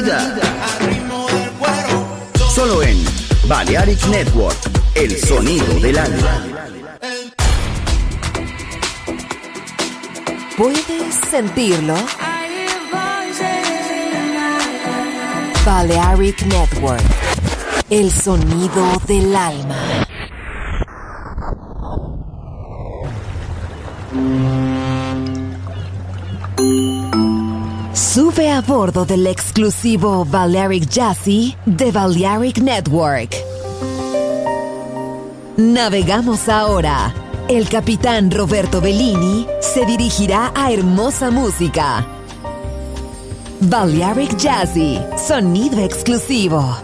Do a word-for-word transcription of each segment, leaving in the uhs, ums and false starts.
vida. Solo en Balearic Network, el sonido del alma. ¿Puedes sentirlo? Balearic Network, el sonido del alma. Sube a bordo del exclusivo Balearic Jazzy de Balearic Network. Navegamos ahora. El capitán Roberto Bellini se dirigirá a hermosa música. Balearic Jazzy, sonido exclusivo.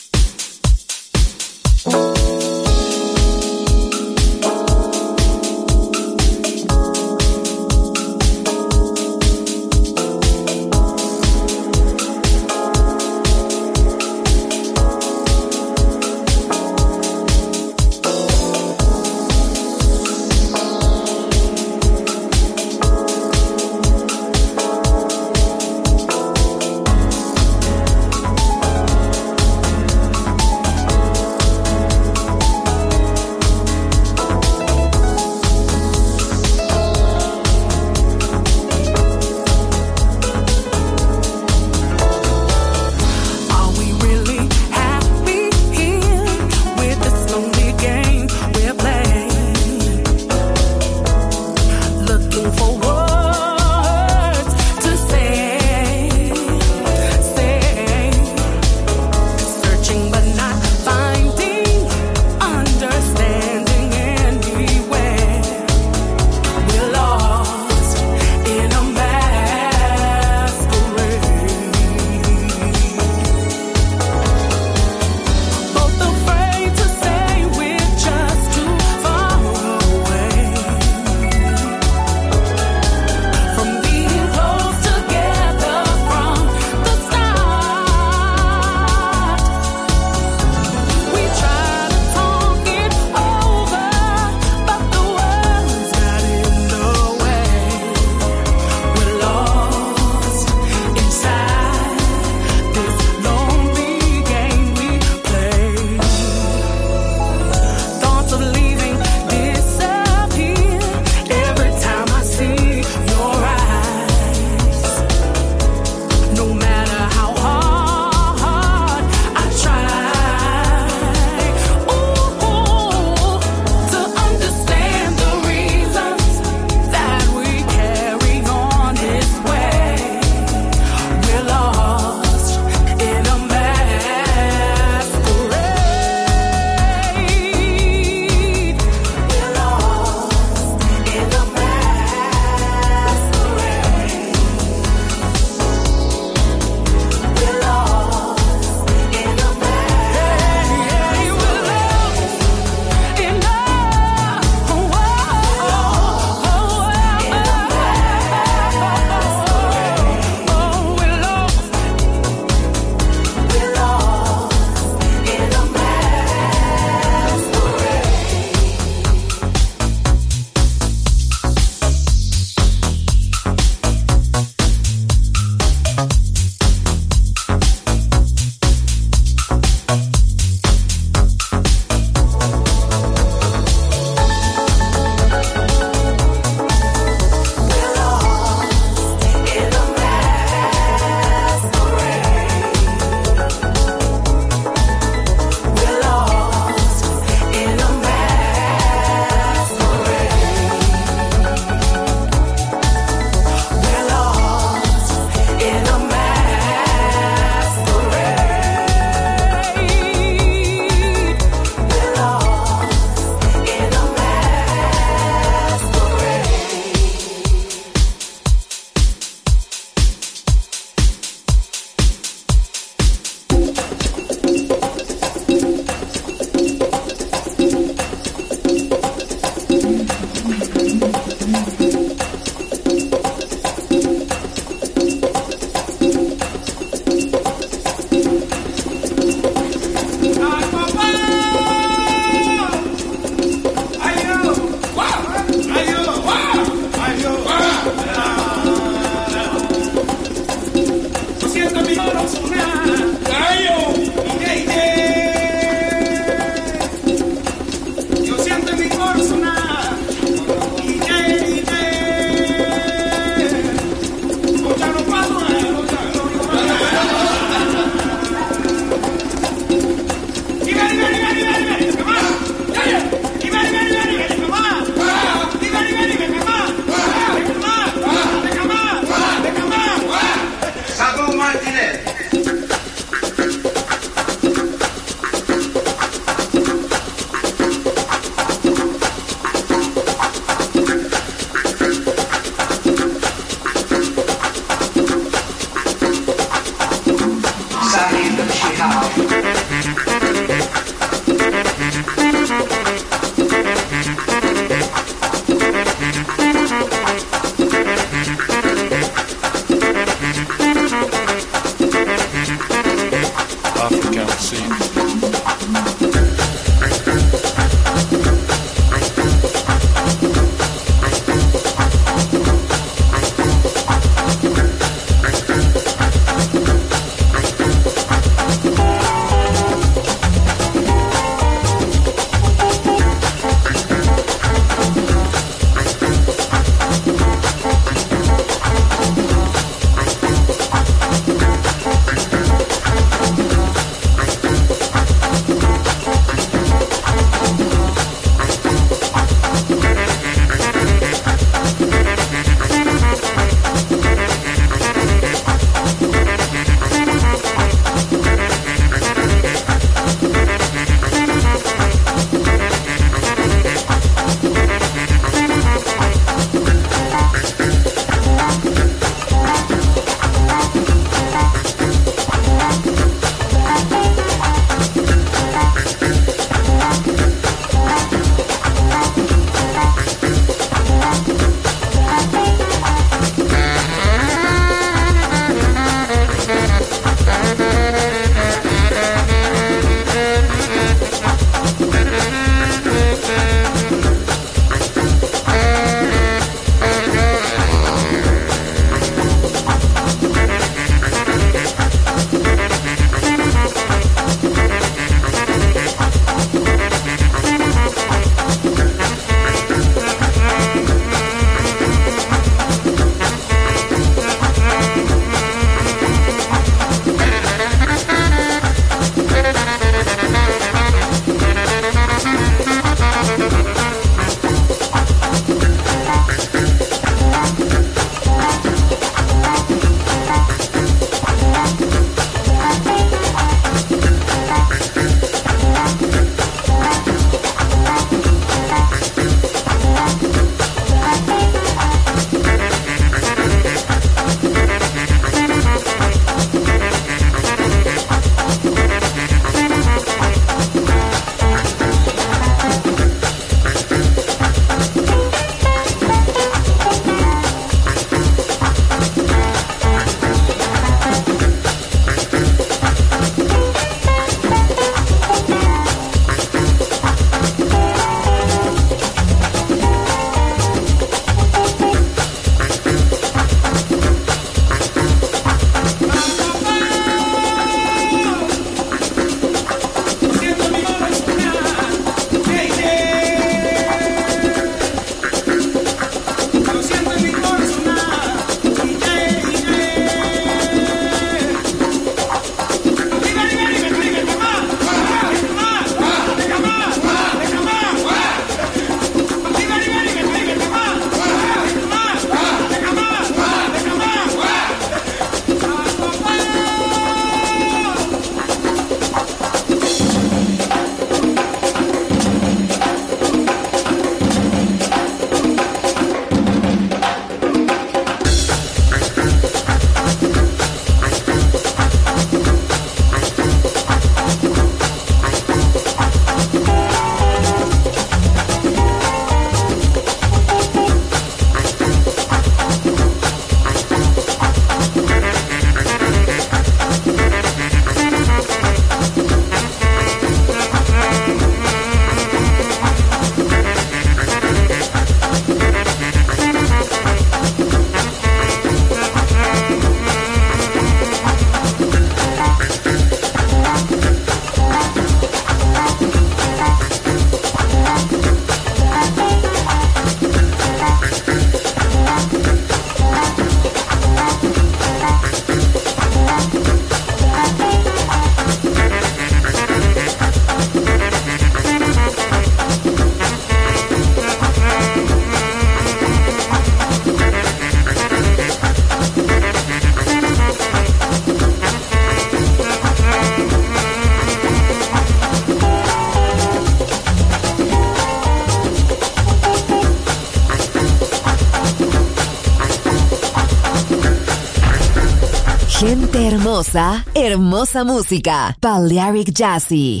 Gente hermosa, hermosa música. Balearic Jazzy.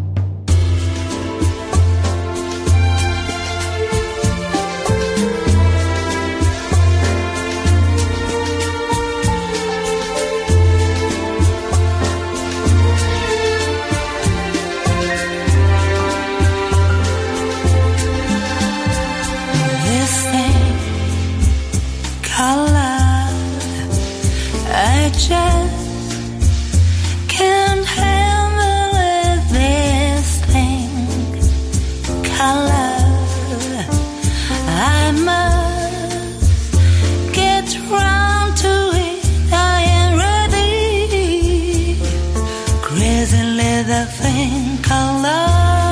Can't handle it, this thing, color. I must get round to it. I am ready. Crazy leather thing, color.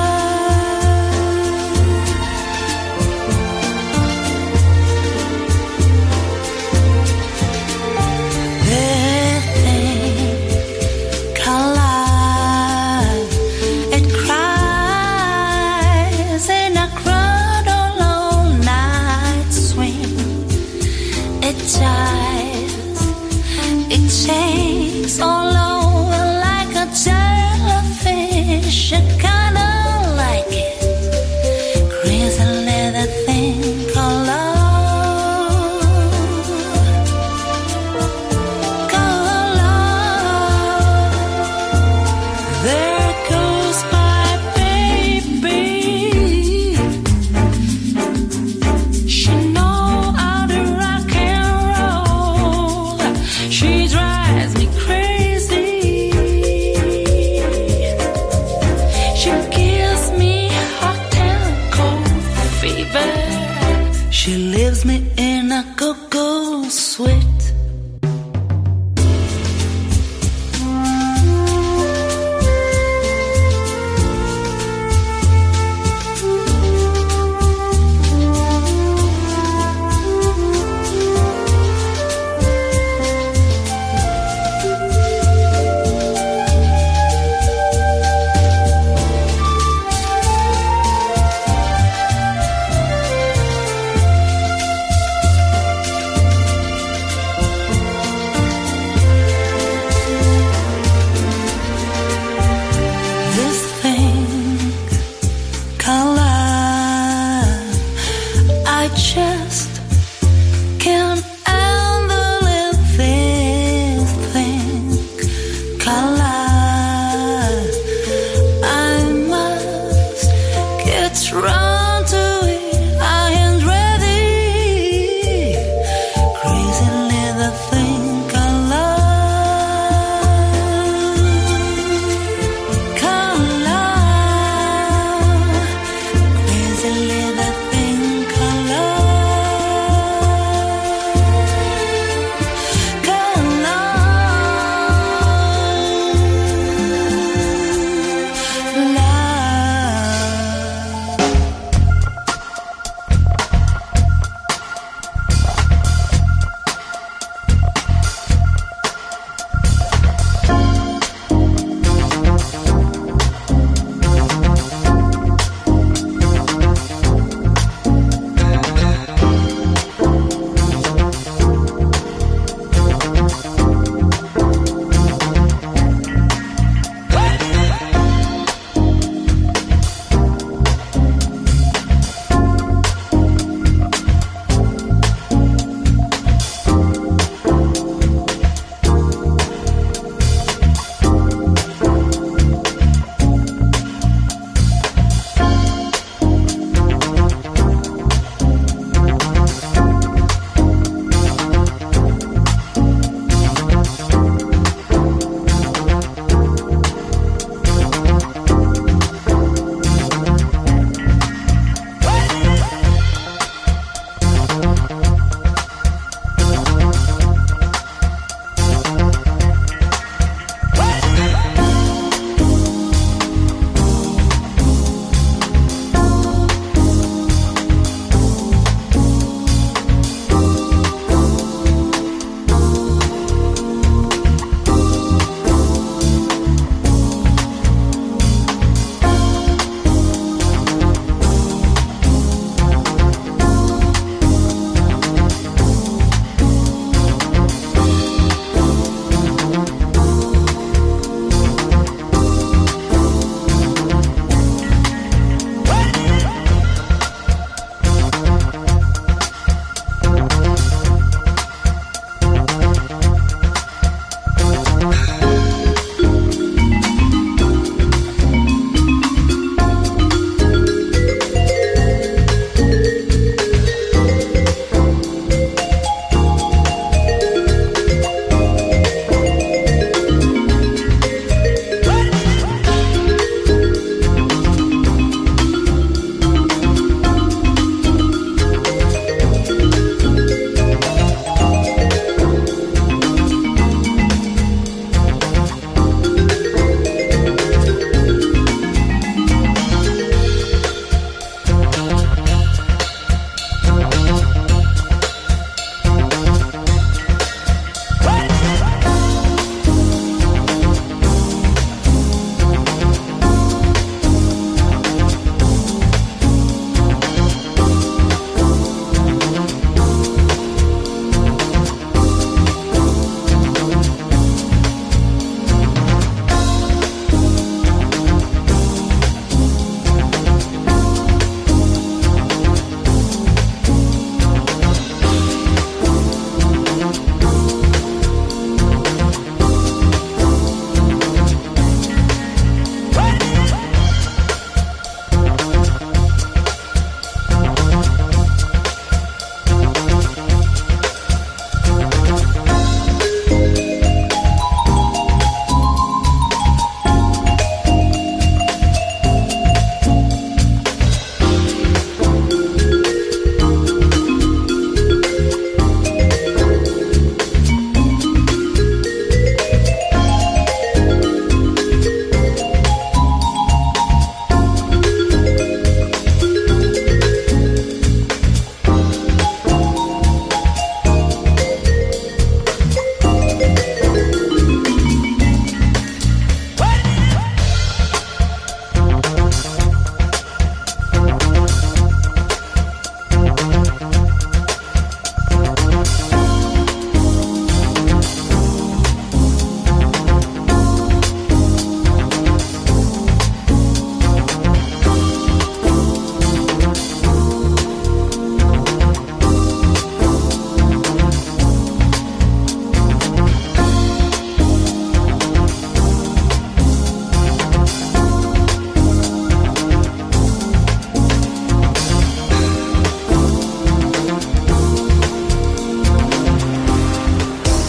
It shakes all over like a jellyfish. I kinda like it. Crazy leather thing called love. Called love. There goes my baby. She knows how to rock and roll. She drives me crazy. She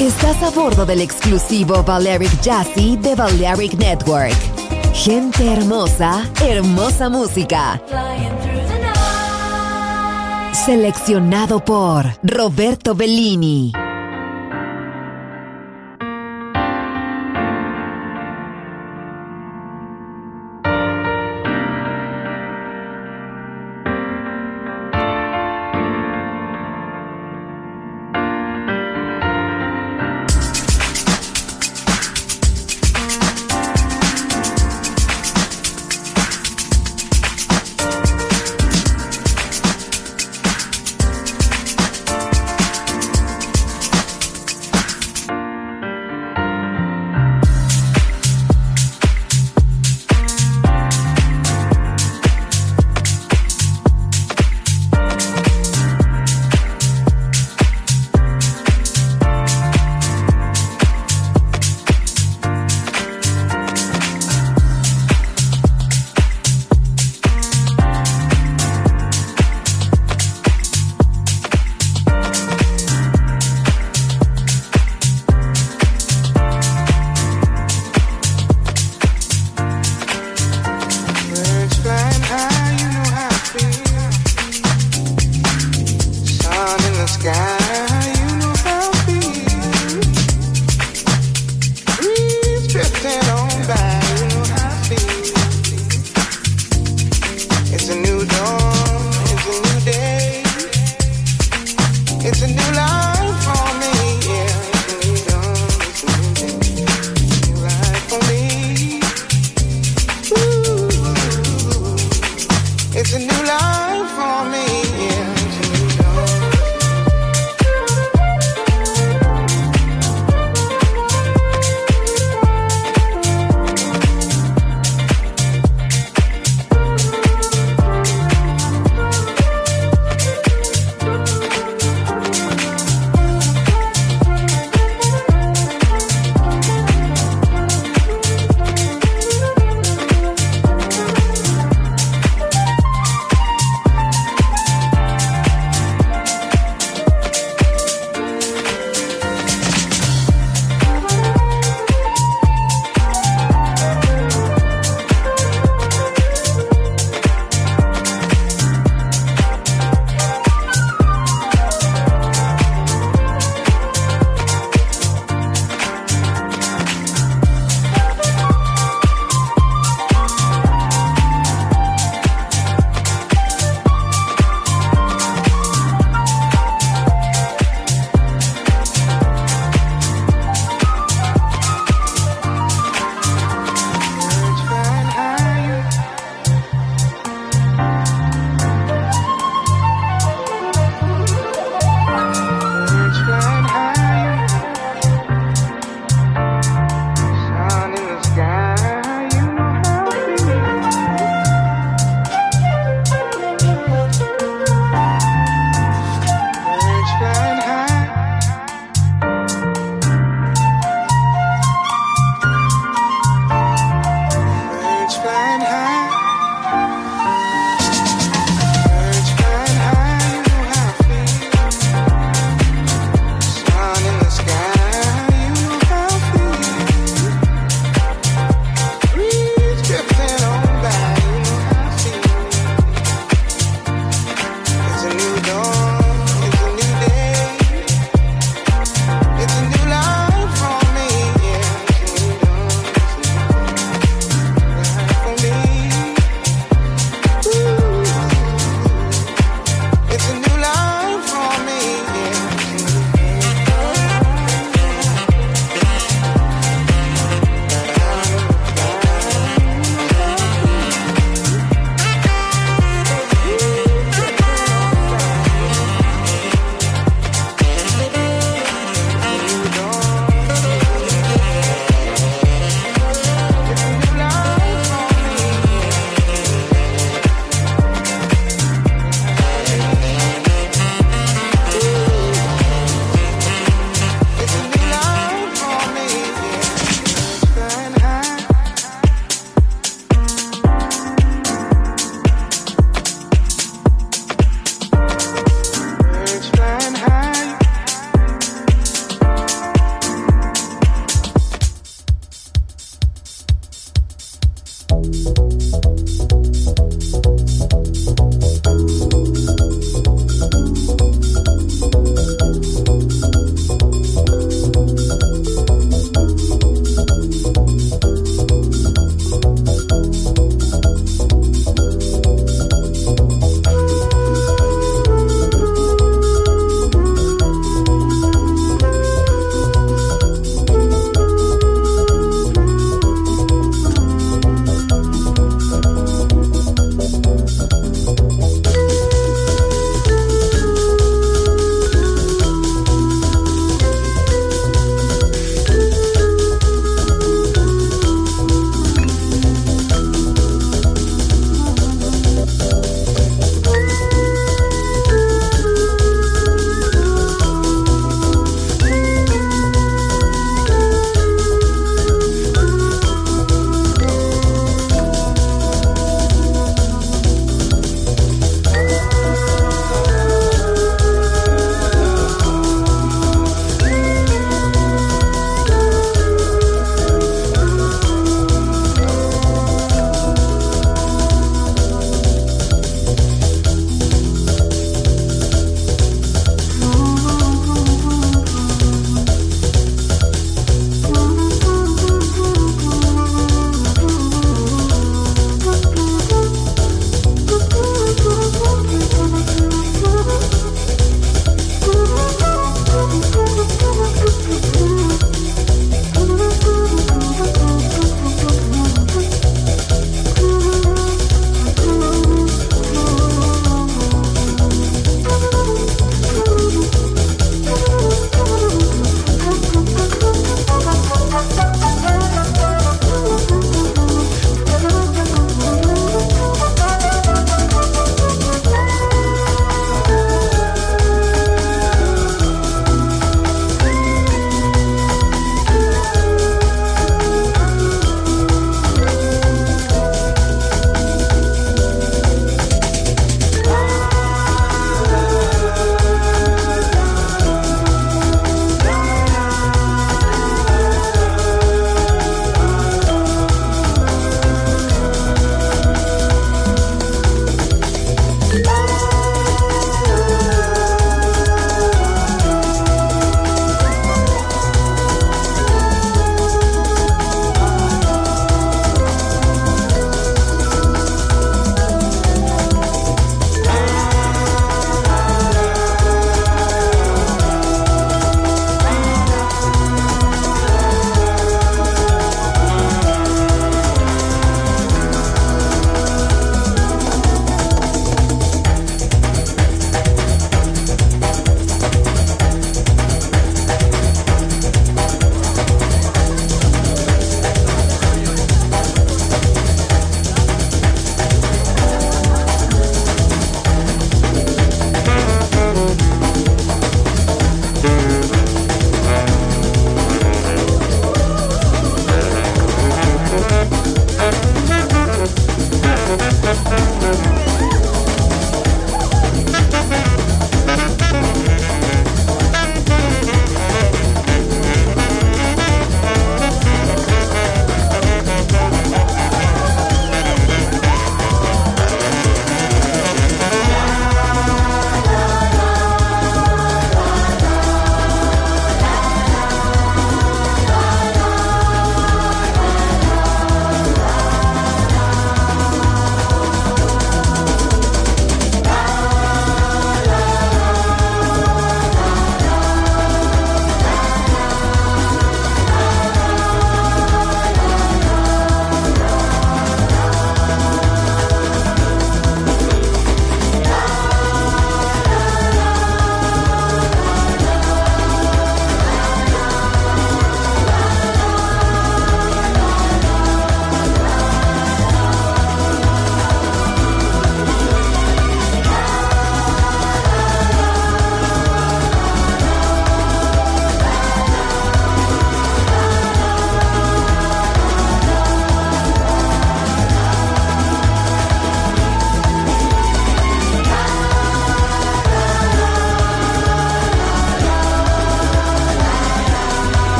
Estás a bordo del exclusivo Balearic Jazzy de Balearic Network. Gente hermosa, hermosa música. Seleccionado por Roberto Bellini.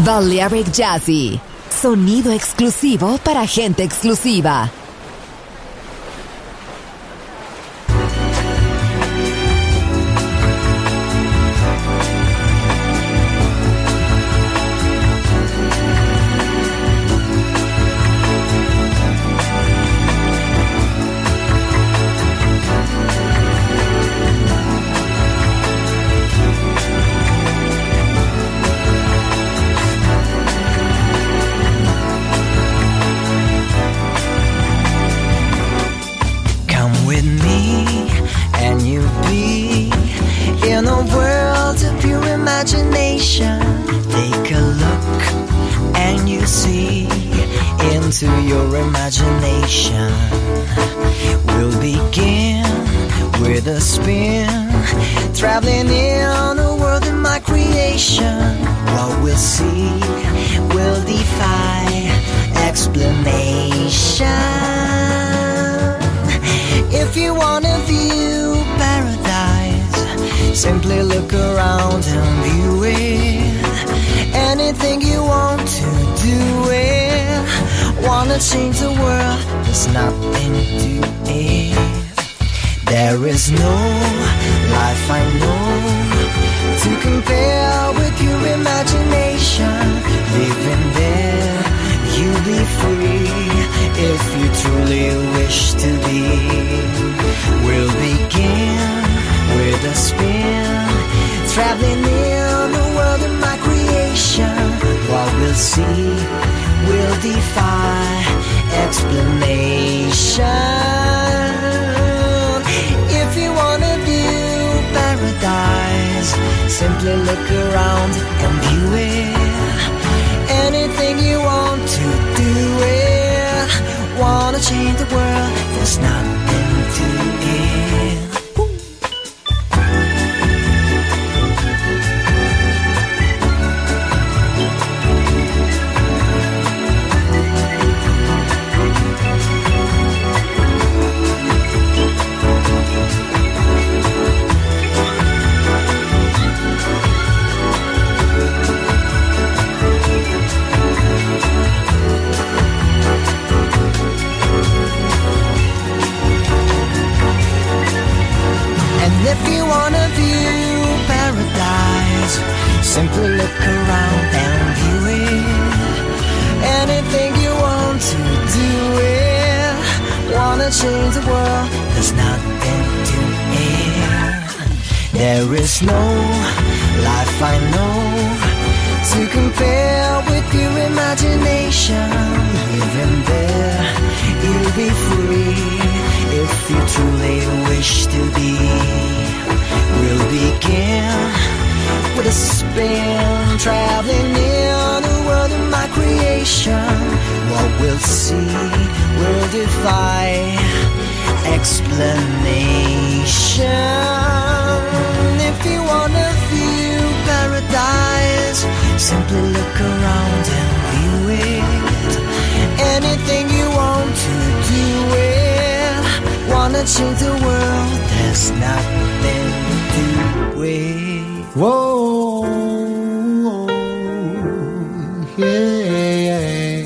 Balearic Jazzy. Sonido exclusivo para gente exclusiva. Into your imagination. We'll begin with a spin, traveling in a world in my creation. What we'll see will defy explanation. If you wanna view paradise, simply look around and view it. Anything you want to do it. Wanna change the world, there's nothing to it. There is no life I know to compare with your imagination. Living there, you'll be free if you truly wish to be. We'll begin with a spin, traveling in the world of my creation. What we'll see will defy explanation. If you wanna view paradise, simply look around and view it. Anything you want to do it. Wanna change the world, there's nothing to give. If you wanna view paradise, simply look around and view it. Anything you want to do it. Wanna change the world, there's nothing to it. There is no life I know to compare with your imagination. Living there, you'll be free if you truly wish to be. We'll begin with a spin, traveling in the world of my creation. What we'll see will defy explanation. If you wanna view paradise, simply look around and view it. Anything you want to do it. Wanna change the world, there's nothing to do it. Whoa, yeah.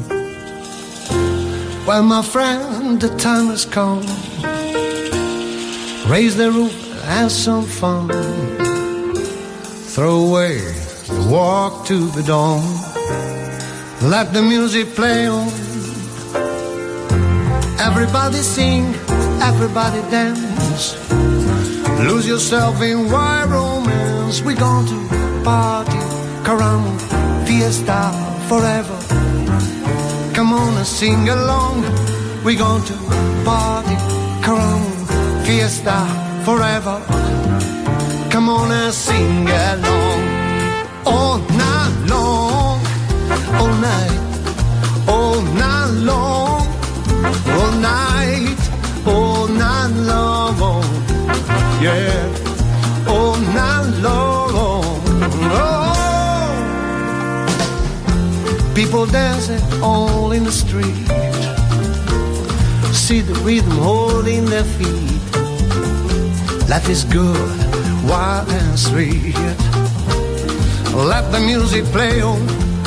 Well, my friend, the time has come. Raise the roof, have some fun. Throw away the walk to the dawn. Let the music play on. Everybody sing, everybody dance. Lose yourself in wild romance. We're going to party, caramba, fiesta forever. Come on and sing along. We're going to party, caramba, fiesta forever. Come on and sing along. All night long, all night, all night long, all night, all night long, yeah, all night long. Oh. People dancing all in the street. See the rhythm holding their feet. Life is good, wild and sweet. Let the music play on.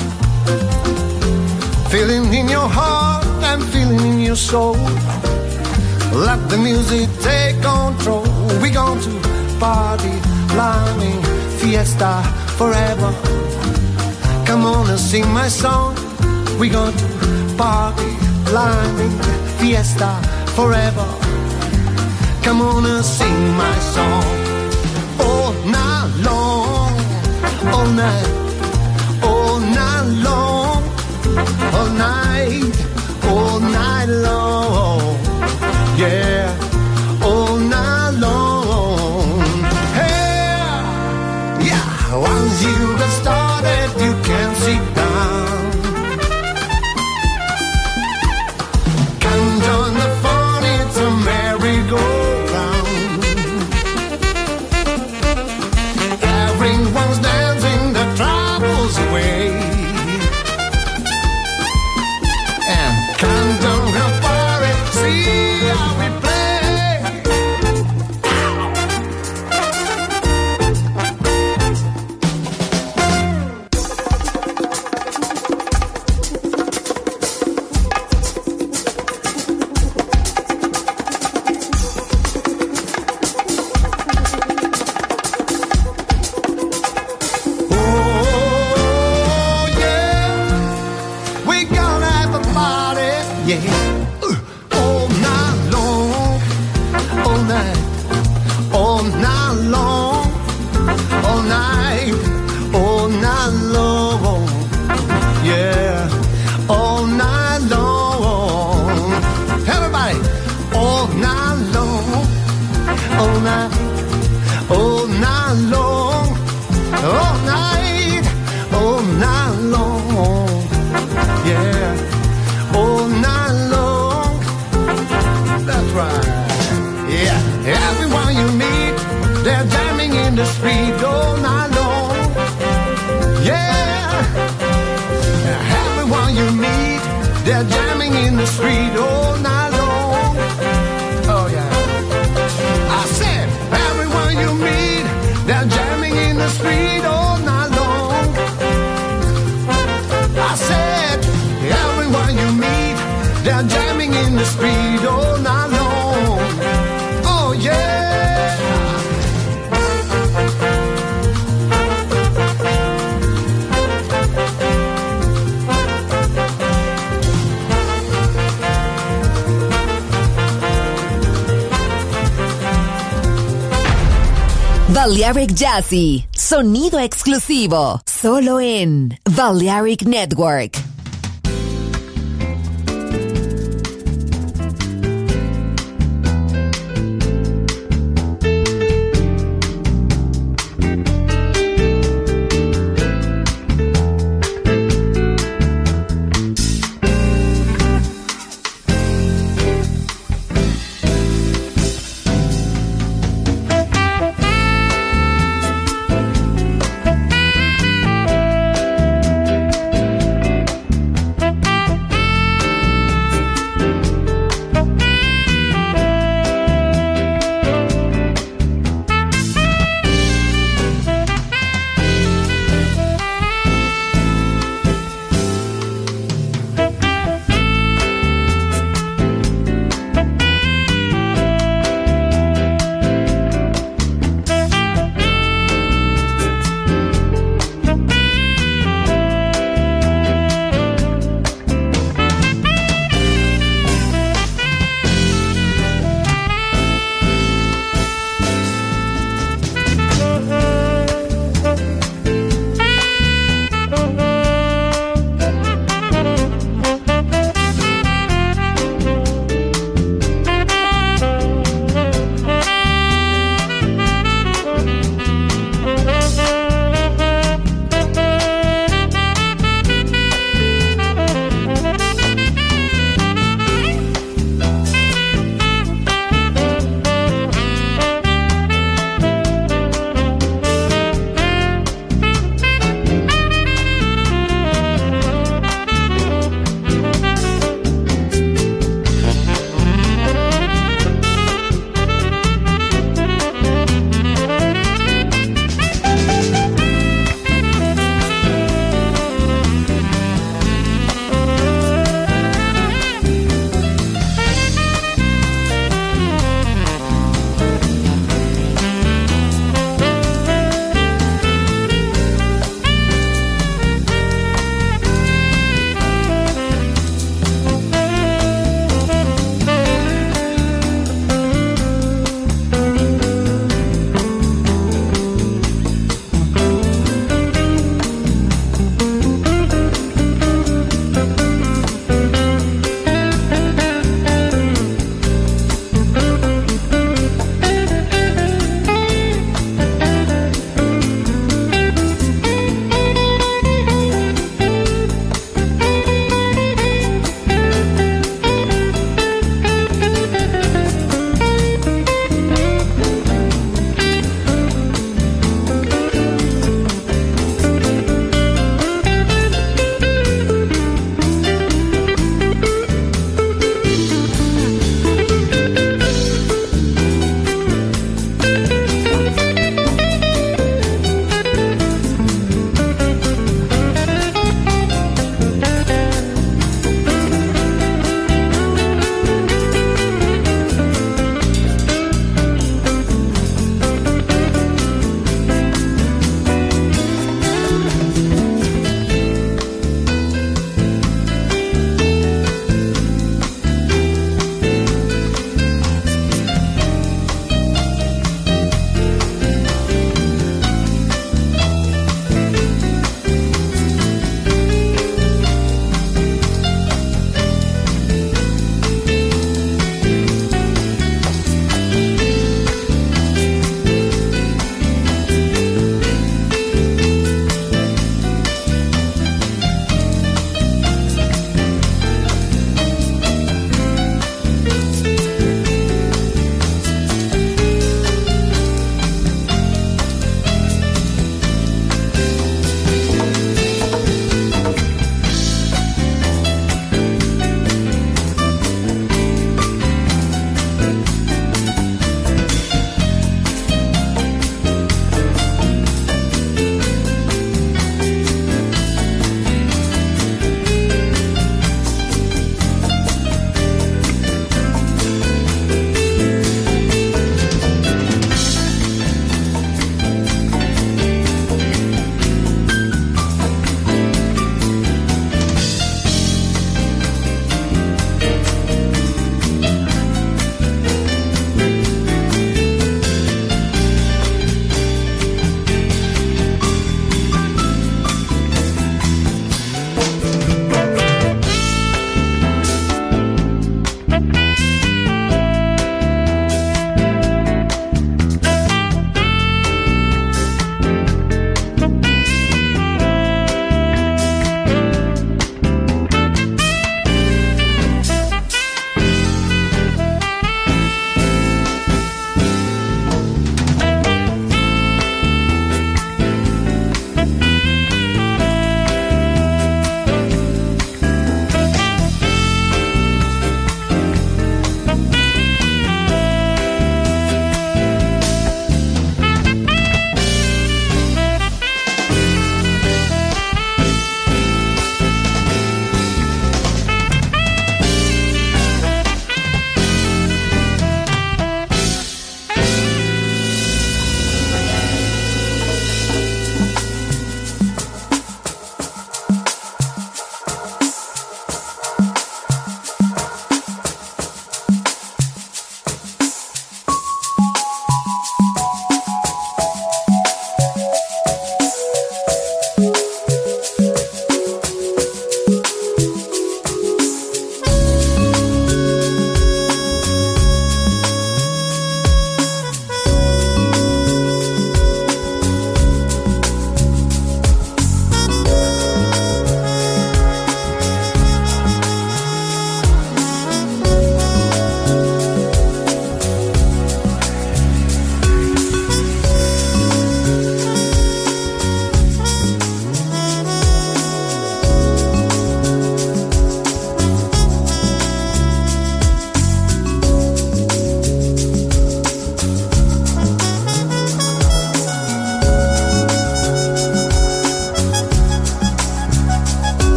feeling in your heart and feeling in your soul. Let the music take control. We're going to party, climbing, fiesta forever. Come on and sing my song. We're going to party, climbing, fiesta forever. Come on and sing my song. All night long, all night, all night long, all night, all night long, yeah, all night long. Hey, yeah, once you get started, you can't sit down. Come join the fun, it's a merry-go-round. Everyone's dancing the troubles away. And come down the party, see how we play. Balearic Jazzy, sonido exclusivo, solo en Balearic Network.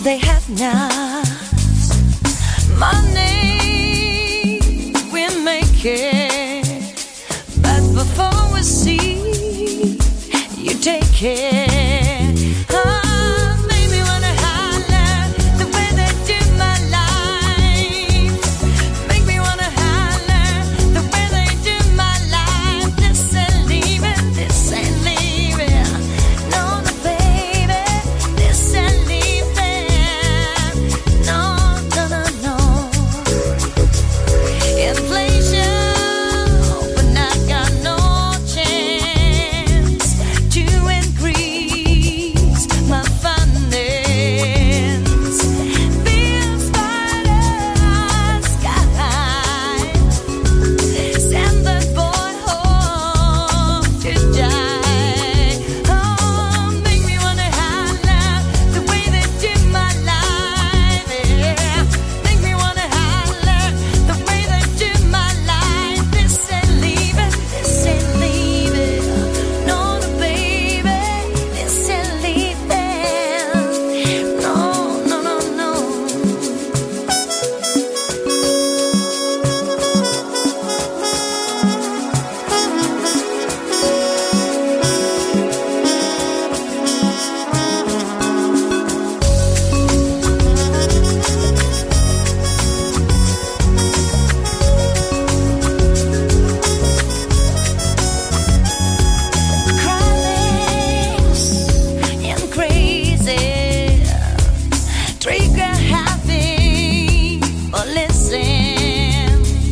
they have now. Money we make it, but before we see, you take care. Oh, make me wanna holler the way they do my life. Make me wanna holler the way they do my life. This ain't leaving, this ain't leaving. No, no, baby, this ain't leaving. No, no, no, no. Inflation, but I got no chance to increase my finance. Bills by the sky. Send the boy home to die. Oh, make me wanna holler the way they do my life. Yeah. Make me wanna holler the way they do my life. This ain't leaving, this ain't leaving. No, no, baby, this ain't leaving. No, no, no, no. Crawlings and crazy, trigger happy or listen.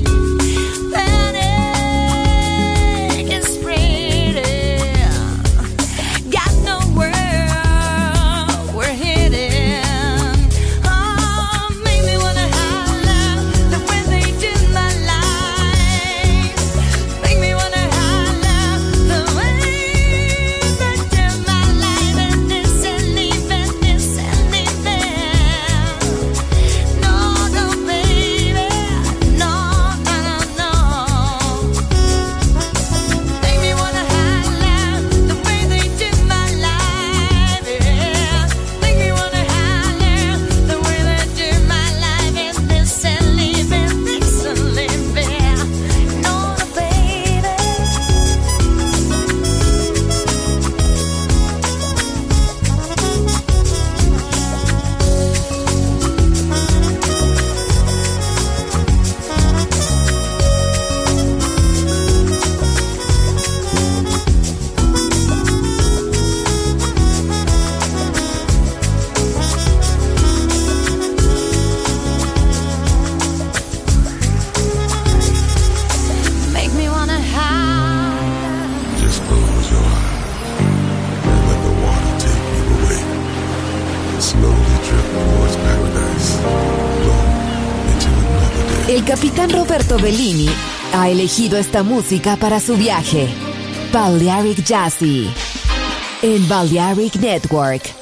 Panic is spreading, got nowhere we're heading. Oh, make me wanna holler the way they do my life. Make me wanna holler the way they do my life. And this ain't leaving, this ain't leaving. No, no, baby, no, no, no, no. Make me wanna holler the way they do my life. Yeah. Make me wanna holler the way they do my life. And this ain't leaving, this ain't leaving. No, no, baby. Make me wanna holler. Just close your eyes and let the water take you away. Slowly drift towards paradise. Flow into another day. El capitán Roberto Bellini ha elegido esta música para su viaje. Balearic Jazzy en Balearic Network.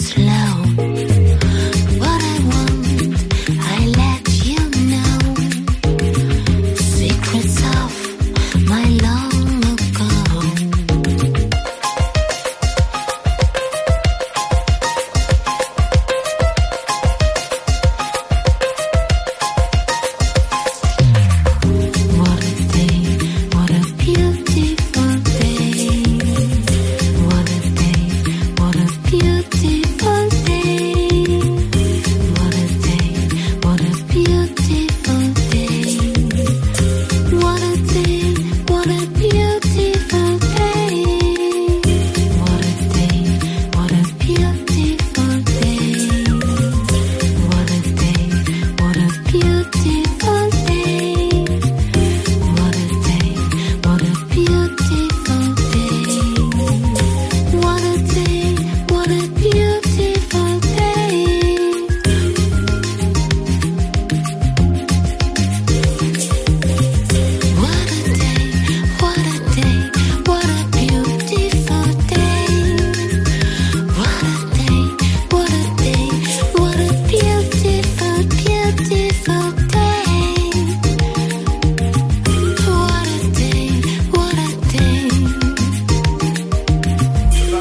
slow.